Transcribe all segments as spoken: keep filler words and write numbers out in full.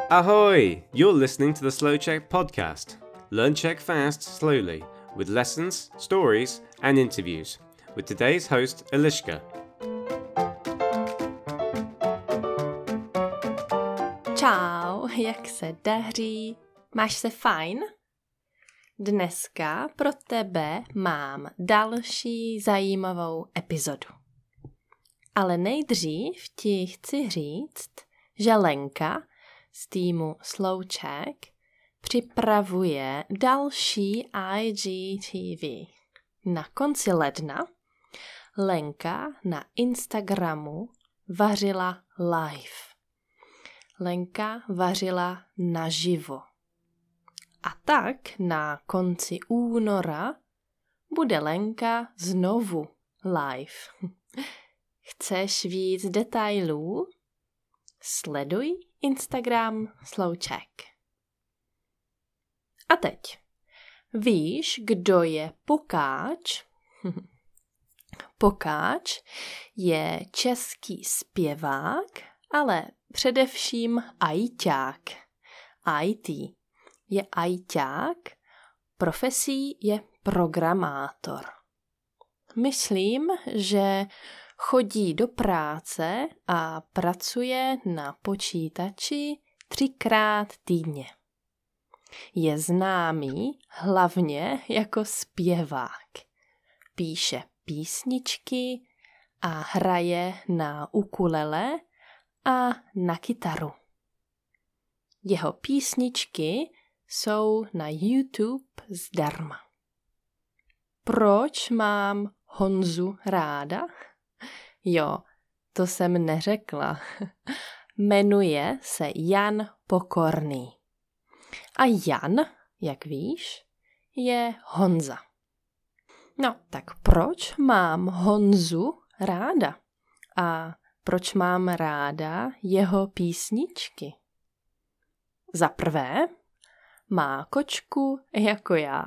Ahoy! You're listening to the Slow Czech podcast. Learn Czech fast, slowly, with lessons, stories, and interviews. With today's host, Eliška. Čau, jak se daří? Máš se fajn? Dneska pro tebe mám další zajímavou epizodu. Ale nejdřív ti chci říct, že Lenka z týmu Slow Czech připravuje další I G T V. Na konci ledna Lenka na Instagramu vařila live. Lenka vařila naživo. A tak na konci února bude Lenka znovu live. Chceš víc detailů? Sleduj Instagram Slow Czech. A teď. Víš, kdo je Pokáč? Pokáč je český zpěvák, ale především ajťák. I T je ajťák, profesí je programátor. Myslím, že chodí do práce a pracuje na počítači třikrát týdně. Je známý hlavně jako zpěvák. Píše písničky a hraje na ukulele a na kytaru. Jeho písničky jsou na YouTube zdarma. Proč mám Honzu ráda? Jo, to jsem neřekla. Jmenuje se Jan Pokorný. A Jan, jak víš, je Honza. No, tak proč mám Honzu ráda? A proč mám ráda jeho písničky? Za prvé, má kočku jako já.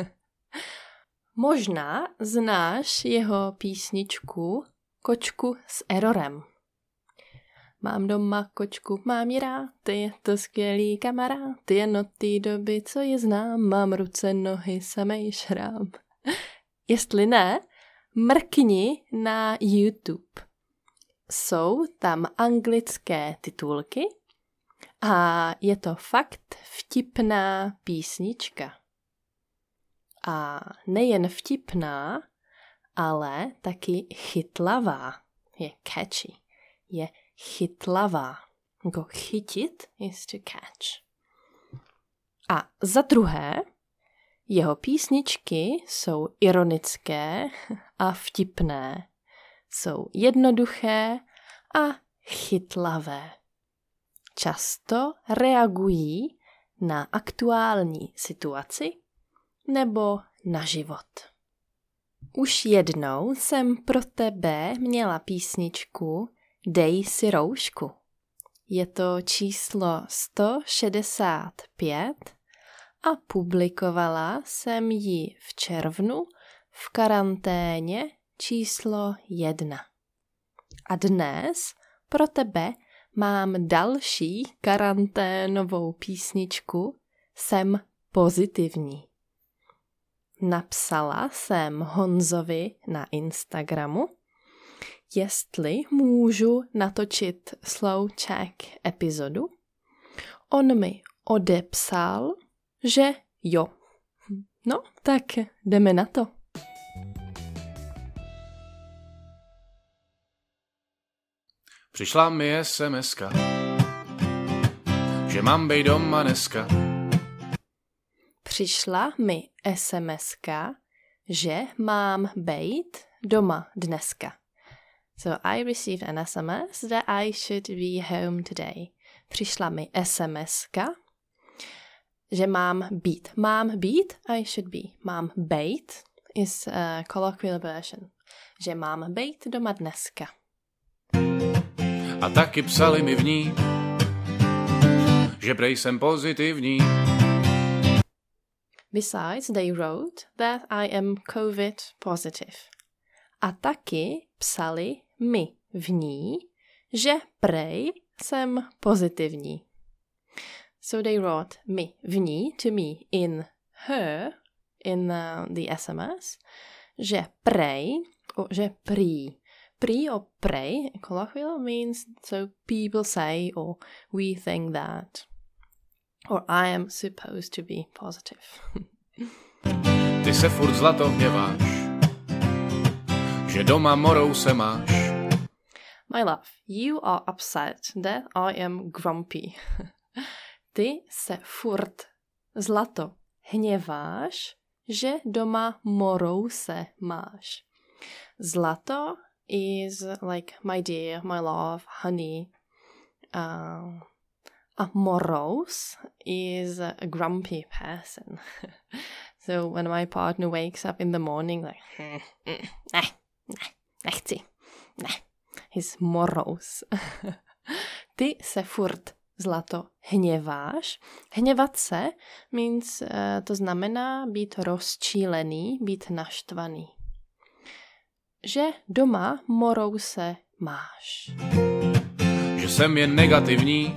Možná znáš jeho písničku Kočku s errorem. Mám doma kočku, mám ji rád, je to skvělý kamarád, jen od té doby, co je znám, mám ruce, nohy, samej šrám. Jestli ne, mrkni na YouTube. Jsou tam anglické titulky a je to fakt vtipná písnička. A nejen vtipná, ale taky chytlavá. Je catchy. Je chytlavá. Jako chytit is to catch. A za druhé, jeho písničky jsou ironické a vtipné. Jsou jednoduché a chytlavé. Často reagují na aktuální situaci nebo na život. Už jednou jsem pro tebe měla písničku Dej si roušku. Je to číslo sto šedesát pět a publikovala jsem ji v červnu v karanténě číslo jedna. A dnes pro tebe mám další karanténovou písničku Jsem pozitivní. Napsala jsem Honzovi na Instagramu, jestli můžu natočit Slow Czech epizodu. On mi odepsal, že jo. No, tak jdeme na to. Přišla mi es em eska, že mám bejt doma dneska. Přišla mi es em eska, že mám bejt doma dneska. So I received an S M S that I should be home today. Přišla mi es em eska, že mám být. Mám být, I should be. Mám bejt is a colloquial version. Že mám bejt doma dneska. A taky psali mi v ní, že prej jsem pozitivní. Besides, they wrote that I am COVID positive. A taky psali mi v ní, že prej jsem pozitivní. So they wrote my, v ní, to me, in her, in uh, the S M S, že prej, or že prý. Prý or prej, colloquial, means so people say or we think that. Or I am supposed to be positive. Ty se furt zlato hněváš, že doma morou se máš. My love, you are upset that I am grumpy. Ty se furt zlato hněváš, že doma morou se máš. Zlato is like my dear, my love, honey. Uh, a morose is a grumpy person. So when my partner wakes up in the morning like, mm, mm, ne, ne, nechci, ne, he's morose. Ty se furt zlato hněváš. Hněvat se means, uh, to znamená být rozčílený, být naštvaný. Že doma morou se máš. Že jsem jen negativní,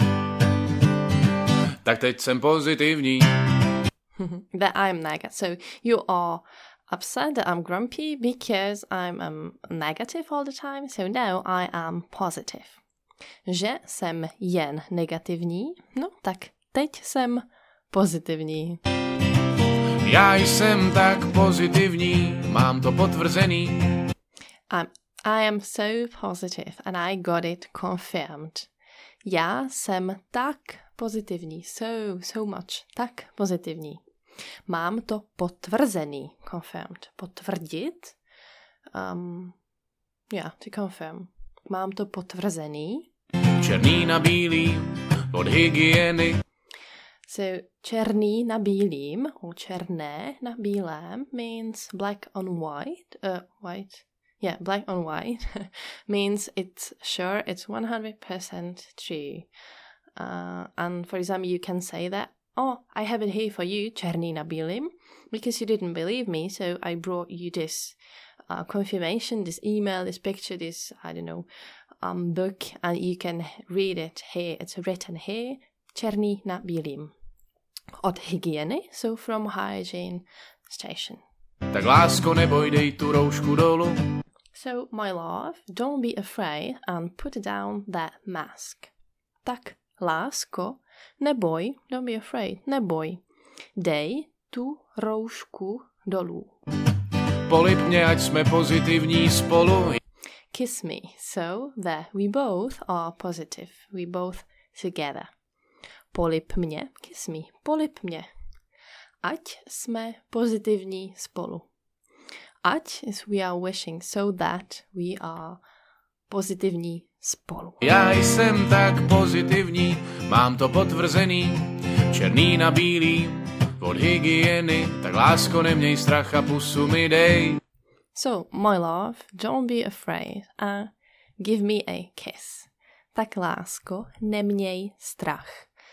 tak teď jsem pozitivní. That I'm negative. So you are upset that I'm grumpy because I'm um, negative all the time. So now I am positive. Že jsem jen negativní, no tak teď jsem pozitivní. Já jsem tak pozitivní, mám to potvrzený. I'm, I am so positive and I got it confirmed. Já jsem tak pozitivní, so, so much, tak pozitivní. Mám to potvrzený, confirmed. Potvrdit, um, yeah, to confirm. Mám to potvrzený. Černý na bílý, od hygieny. So, černý na bílým, or černé na bílém, means black on white, uh, white, yeah, black on white, means it's sure, it's one hundred percent true. Uh, and for example, you can say that, oh, I have it here for you, černý na bílým, because you didn't believe me, so I brought you this uh, confirmation, this email, this picture, this, I don't know, um, book, and you can read it here. It's written here, černý na bílým. Od hygieny, so from hygiene station. Tak lásko, neboj, dej tu roušku dolu. So, my love, don't be afraid and put down that mask. Tak, lásko, neboj, don't be afraid, neboj. Dej tu roušku dolů. Polib mě, ať jsme pozitivní spolu. Kiss me, so that we both are positive. We both together. Polib mě, kiss me, polib mě. Ať jsme pozitivní spolu. Ať is we are wishing, so that we are pozitivní spolu. Já jsem tak pozitivní, mám to potvrzený. Černý na bílý, od hygieny. Tak lásko, neměj strach a pusu mi dej. So, my love, don't be afraid and give me a kiss. Tak lásko, neměj strach.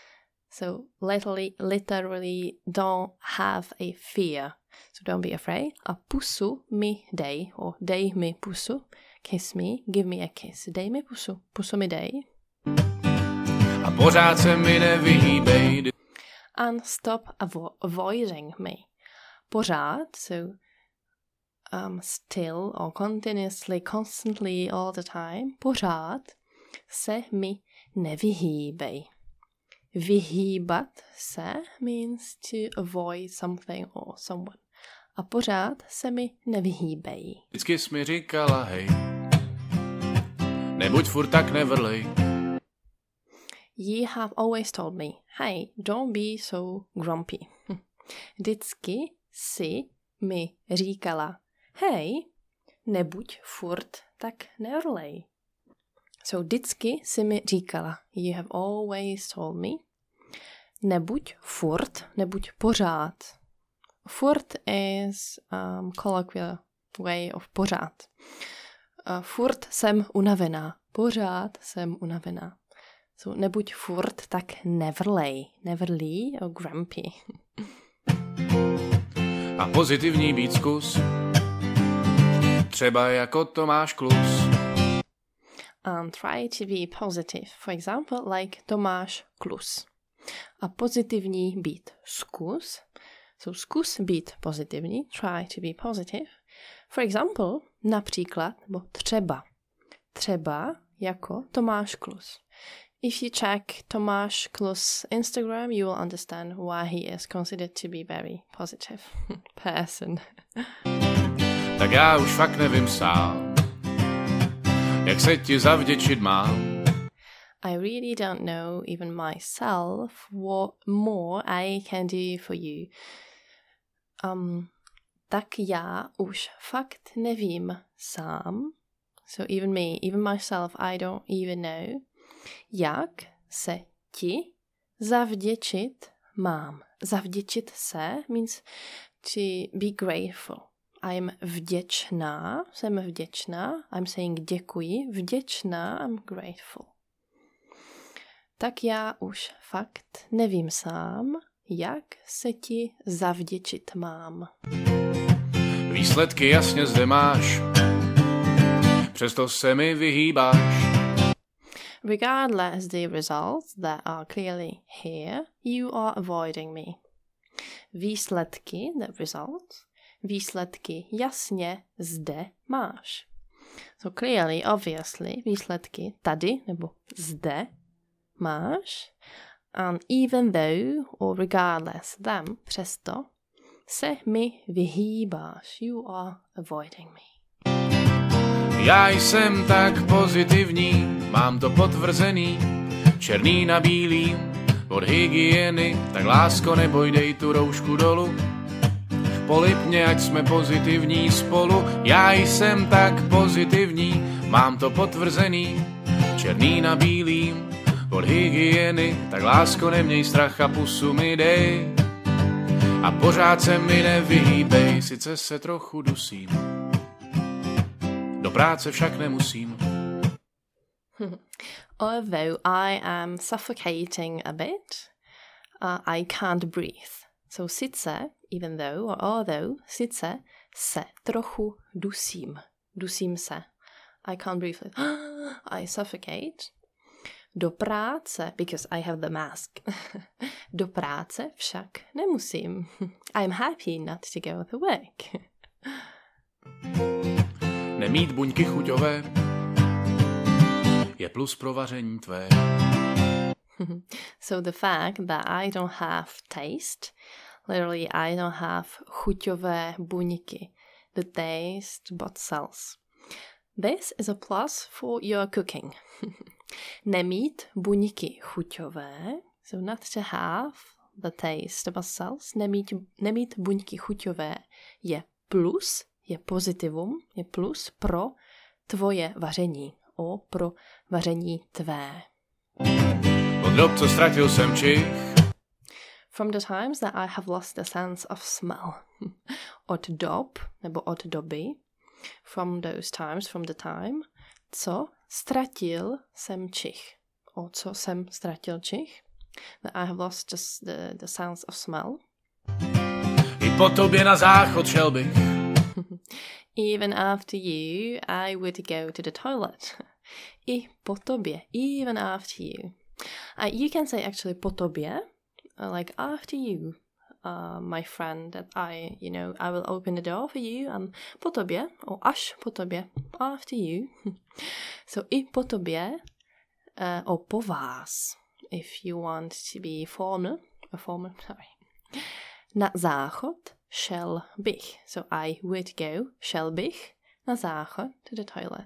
So, literally, literally don't have a fear. So don't be afraid. A pusu mi dej, or dej mi pusu. Kiss me, give me a kiss. Dej mi pusu, pusu mi dej. A pořád se mi nevyhýbej. And stop avo- avoiding me. Pořád, so um, still or continuously, constantly, all the time. Pořád se mi nevyhýbej. Vyhýbat se means to avoid something or someone. A pořád se mi nevyhýbej. Vždycky jsi mi říkala, hej, nebuď furt tak nevrlej. You have always told me, hey, don't be so grumpy. Vždycky si mi říkala, hej, nebuď furt tak nevrlej. So vždycky si mi říkala, you have always told me, nebuď furt, nebuď pořád. Furt is um, colloquial way of pořád. Uh, furt jsem unavená, pořád jsem unavená. So nebuď furt tak nevrlej, nevrlý or grumpy. A pozitivní být zkus, třeba jako Tomáš Klus. And try to be positive. For example, like Tomáš Klus. A pozitivní být zkus. So zkus být pozitivní. Try to be positive. For example, například, nebo třeba. Třeba jako Tomáš Klus. If you check Tomáš Klus Instagram, you will understand why he is considered to be very positive person. Tak já už fakt nevím sám, jak se ti zavděčit mám. I really don't know even myself what more I can do for you. Um, tak já už fakt nevím sám. So even me, even myself, I don't even know. Jak se ti zavděčit mám. Zavděčit se means to be grateful. I'm vděčná, jsem vděčná. I'm saying děkuji, vděčná, I'm grateful. Tak já už fakt nevím sám, jak se ti zavděčit mám. Výsledky jasně zde máš, přesto se mi vyhýbáš. Regardless the results that are clearly here, you are avoiding me. Výsledky, the results, výsledky jasně zde máš. So clearly, obviously, výsledky tady nebo zde máš. And even though, or regardless them, přesto se mi vyhýbáš. You are avoiding me. Já jsem tak pozitivní, mám to potvrzený, černý na bílý, od hygieny, tak lásko neboj, dej tu roušku dolů. Polipně, ať jsme pozitivní spolu, já jsem tak pozitivní, mám to potvrzený, černý na bílý, od hygieny, tak lásko neměj strach a pusu mi dej. A pořád se mi nevyhýbej, sice se trochu dusím, do práce však nemusím. Although I am suffocating a bit, uh, I can't breathe. So sice, even though, or although, sice se trochu dusím. Dusím se. I can't breathe. I suffocate. Do práce, because I have the mask. Do práce však nemusím. I'm happy not to go to work. Nemít buňky chuťové je plus pro vaření tvé. So the fact that I don't have taste, literally I don't have chuťové buňky, the taste bud cells. This is a plus for your cooking. Nemít buňky chuťové, so not to have the taste bud cells, nemít, nemít buňky chuťové je plus, je pozitivum, je plus pro tvoje vaření, o pro vaření tvé. Od dob, co ztratil jsem čich, From the times that I have lost the sense of smell. Od dob, nebo od doby, from those times, from the time, co ztratil jsem čich. O co jsem ztratil čich? That I have lost just the, the sense of smell. i po tobě na záchod šel bych. Even after you, I would go to the toilet. I po tobě, even after you. Uh, you can say actually po tobě, uh, like after you, uh, my friend, that I, you know, I will open the door for you, and po tobě, or až po tobě, after you. So i po tobě, uh, or po vás, if you want to be formal, a formal, sorry. Na záchod šel bych. So I would go, šel bych, na záchod to the toilet.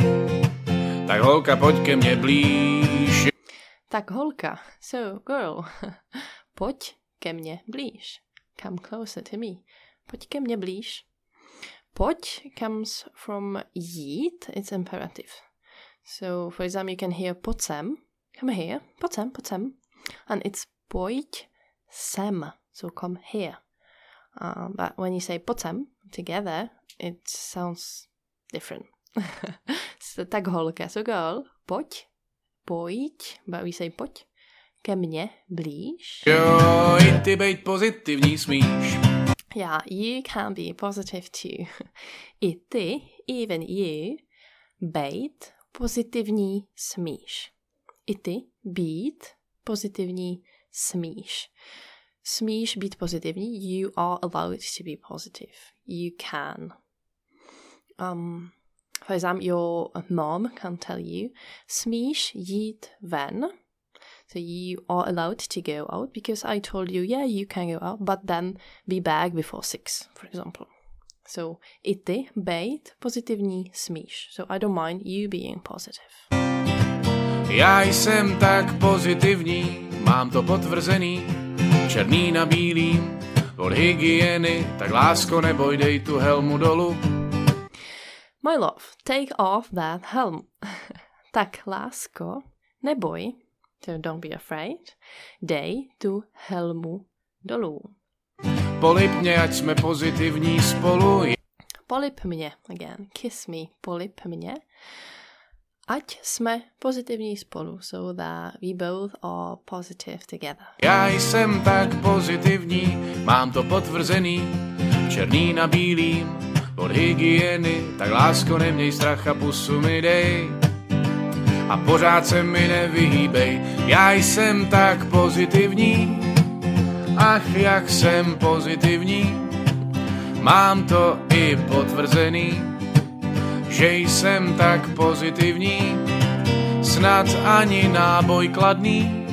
Tak holka, pojď ke mně blíž. Tak holka, so girl, pojď ke mně blíž. Come closer to me. Pojď ke mně blíž. Pojď comes from jít, it's imperative. So for example you can hear pojď sem, come here, pojď sem, pojď sem. And it's pojď sem, so come here. Uh, but when you say pojď sem together, it sounds different. So, tak holka, so girl, pojď, pojď, but we say pojď, ke mně blíž. Jo, i ty bejt pozitivní smíš. Yeah, you can be positive too. I ty, even you, bejt pozitivní smíš. I ty být pozitivní smíš. Smíš být pozitivní. You are allowed to be positive. You can. Um, for example, your mom can tell you, smíš jít ven. So you are allowed to go out because I told you, yeah, you can go out, but then be back before six, for example. So i ty, bejt, pozitivní, smíš. So I don't mind you being positive. Já jsem tak pozitivní, mám to potvrzený, černý na bílým, od hygieny, tak lásko neboj, dej tu helmu dolu. My love, take off that helm. Tak lásko, neboj, so don't be afraid, dej tu helmu dolů. Polip mě, ať jsme pozitivní spolu. Polip mě, again, kiss me, polip mě, ať jsme pozitivní spolu, so that we both are positive together. Já jsem tak pozitivní, mám to potvrzený, černý na bílým, od hygieny, tak lásko neměj strach a pusu mi dej. A pořád se mi nevyhýbej, já jsem tak pozitivní, ach jak jsem pozitivní, mám to i potvrzený, že jsem tak pozitivní, snad ani náboj kladný.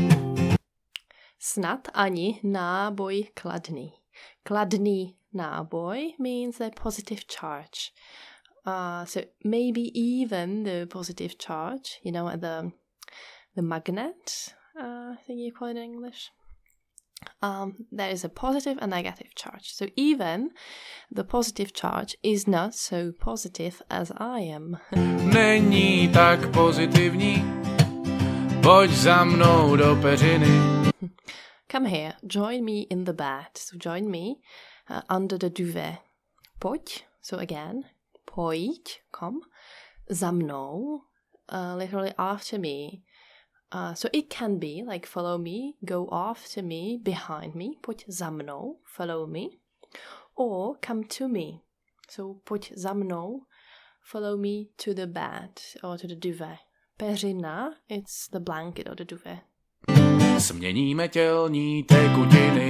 Snad ani náboj kladný. Kladný náboj means a positive charge. Uh, so maybe even the positive charge, you know, the the magnet, uh, I think you call it in English. Um, there is a positive and negative charge. So even the positive charge is not so positive as I am. Není tak pozitivní, pojď za mnou do peřiny. Come here, join me in the bed. So join me uh, under the duvet. Pojď, so again, pojď, come, za mnou, uh, literally after me. Uh, so it can be like follow me, go after me, behind me, pojď za mnou, follow me, or come to me. So pojď za mnou, follow me to the bed or to the duvet. Peřina, it's the blanket or the duvet. Směníme tělní tekutiny.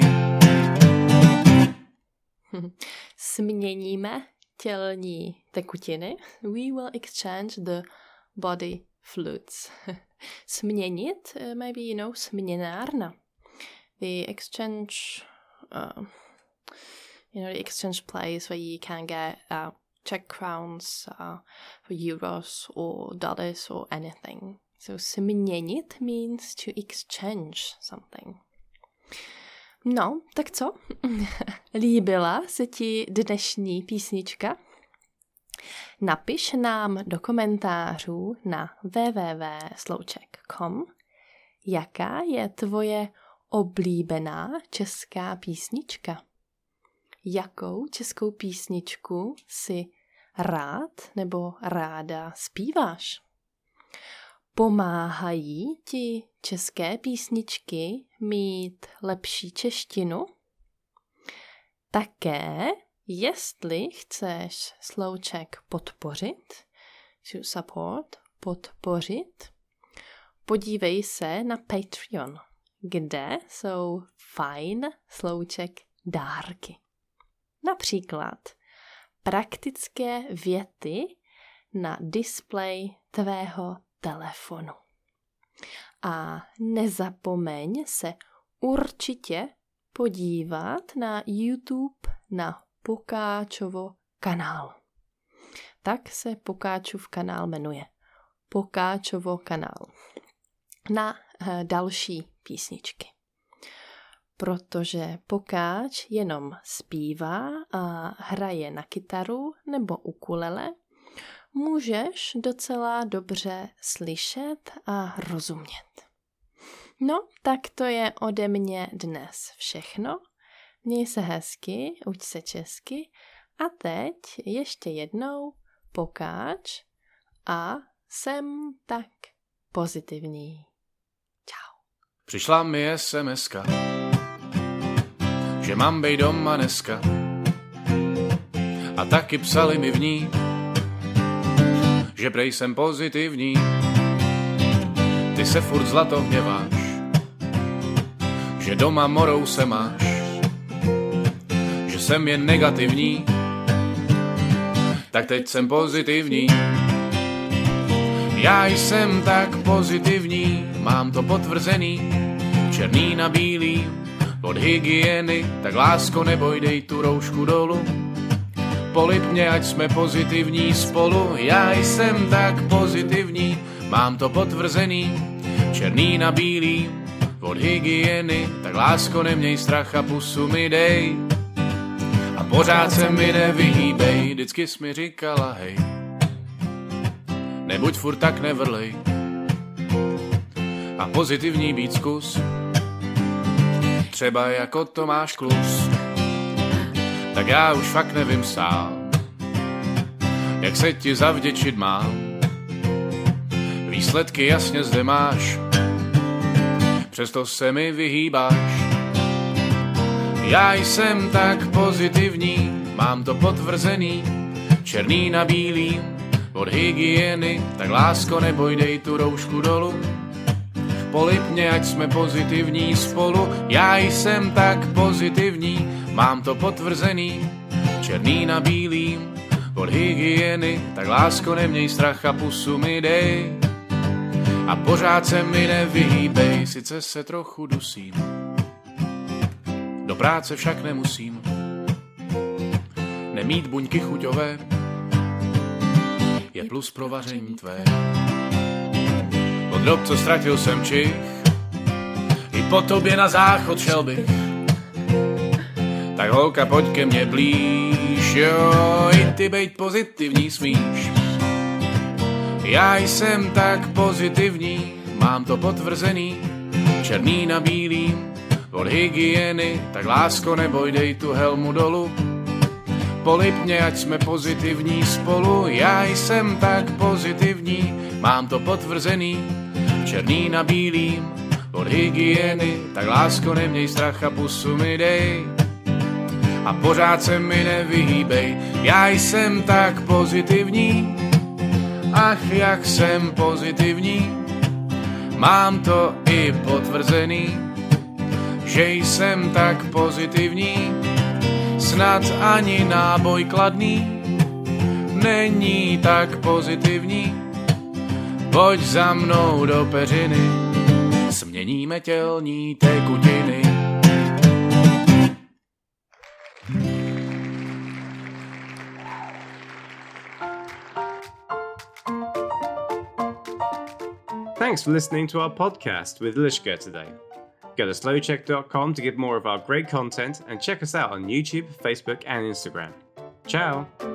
Směníme tělní tekutiny. We will exchange the body fluids. Směnit, uh, maybe you know, směnárna. The exchange, uh, you know, the exchange place where you can get uh, Czech crowns uh, for euros or dollars or anything. So směnit means to exchange something. No, tak co? Líbila se ti dnešní písnička? Napiš nám do komentářů na w w w tečka slouček tečka com, jaká je tvoje oblíbená česká písnička. Jakou českou písničku si rád nebo ráda zpíváš? Pomáhají ti české písničky mít lepší češtinu? Také, jestli chceš Slouček podpořit, to support, podpořit, podívej se na Patreon, kde jsou fajn Slouček dárky. Například praktické věty na displej tvého telefonu. A nezapomeň se určitě podívat na YouTube na Pokáčovo kanál. Tak se Pokáčův kanál jmenuje. Pokáčovo kanál. Na uh, další písničky. Protože Pokáč jenom zpívá a hraje na kytaru nebo ukulele, můžeš docela dobře slyšet a rozumět. No, tak to je ode mě dnes všechno. Měj se hezky, uč se česky a teď ještě jednou Pokáč a jsem tak pozitivní. Čau. Přišla mi es em eska, že mám bej doma dneska. A taky psali mi v ní, že prej jsem pozitivní. Ty se furt zlato hněváš, že že doma morou se máš, že jsem jen negativní, tak teď jsem pozitivní. Já jsem tak pozitivní, mám to potvrzený, černý na bílý, od hygieny, tak lásko neboj, dej tu roušku dolů. Polip mě, ať jsme pozitivní spolu, já jsem tak pozitivní, mám to potvrzený, černý na bílý, od hygieny, tak lásko neměj strach a pusu mi dej. A pořád se mi nevyhýbej, vždycky jsi mi říkala hej, nebuď furt tak nevrlej a pozitivní být zkus, třeba jako Tomáš Klus. Tak já už fakt nevím sám, jak se ti zavděčit mám, výsledky jasně zde máš, přesto se mi vyhýbáš. Já jsem tak pozitivní, mám to potvrzený, černý na bílý, od hygieny, tak lásko neboj, dej tu roušku dolů. Polip mě, ať jsme pozitivní spolu, já jsem tak pozitivní, mám to potvrzený, černý na bílý, od hygieny, tak lásko neměj strach a pusu mi dej. A pořád se mi nevyhýbej, sice se trochu dusím, do práce však nemusím, nemít buňky chuťové je plus pro vaření tvé. Od dob, co ztratil jsem čich, i po tobě na záchod šel bych, tak holka, pojď ke mně blíž, jo, i ty bejt pozitivní smíš. Já jsem tak pozitivní, mám to potvrzený, černý na bílý, od hygieny, tak lásko neboj, dej tu helmu dolů. Polip mě, ať jsme pozitivní spolu, já jsem tak pozitivní, mám to potvrzený, černý na bílým, od hygieny, tak lásko neměj strach a pusu mi dej. A pořád se mi nevyhýbej, já jsem tak pozitivní, ach jak jsem pozitivní, mám to i potvrzený, že jsem tak pozitivní, snad ani náboj kladný není tak pozitivní. Pojď za mnou do peřiny, směníme tělní tekutiny. Thanks for listening to our podcast with Lishka today. Go to slow check dot com to get more of our great content and check us out on YouTube, Facebook, and Instagram. Ciao!